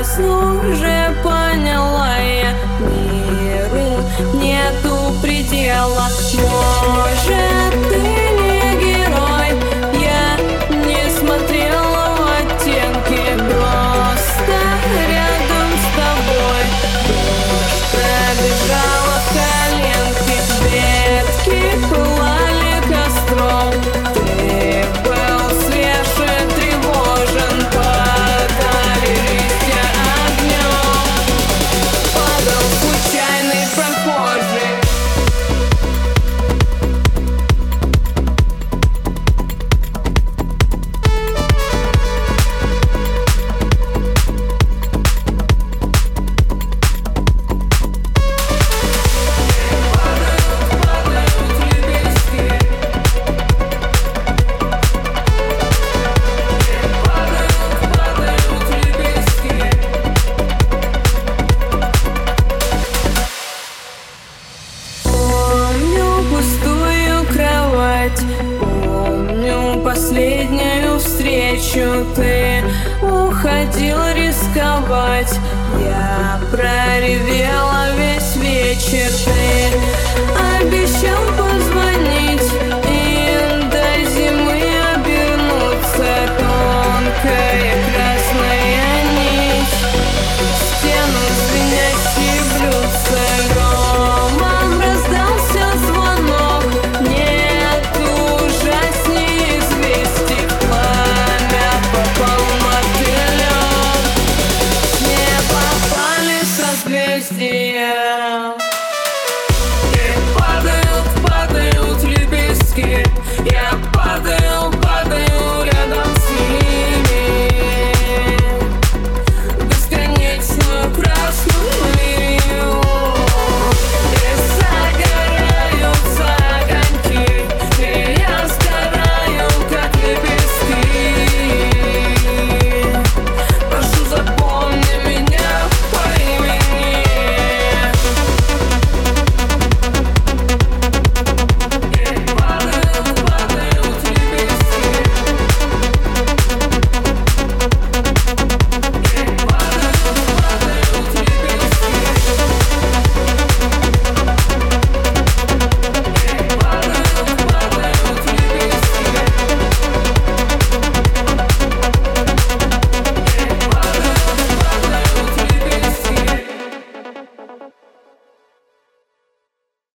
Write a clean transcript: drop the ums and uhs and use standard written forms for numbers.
сразу же поняла я, миру нету предела. Может, ты не герой, я не смотрела в оттенки, просто рядом с тобой дождь пробежала в коленки, ветки пылали костром, ты был свеж и тревожен, падали листья огнем, падал случайный прохожий. Пустую кровать, помню последнюю встречу. Ты уходил рисковать, я проревела весь вечер. Ты обещал позвонить и до зимы обернуться. Тонкая красная нить, стену звенящие блюдца. Громом раздался звонок, нет ужасней известий. Пламя попал мотылек, с неба пали созвездия.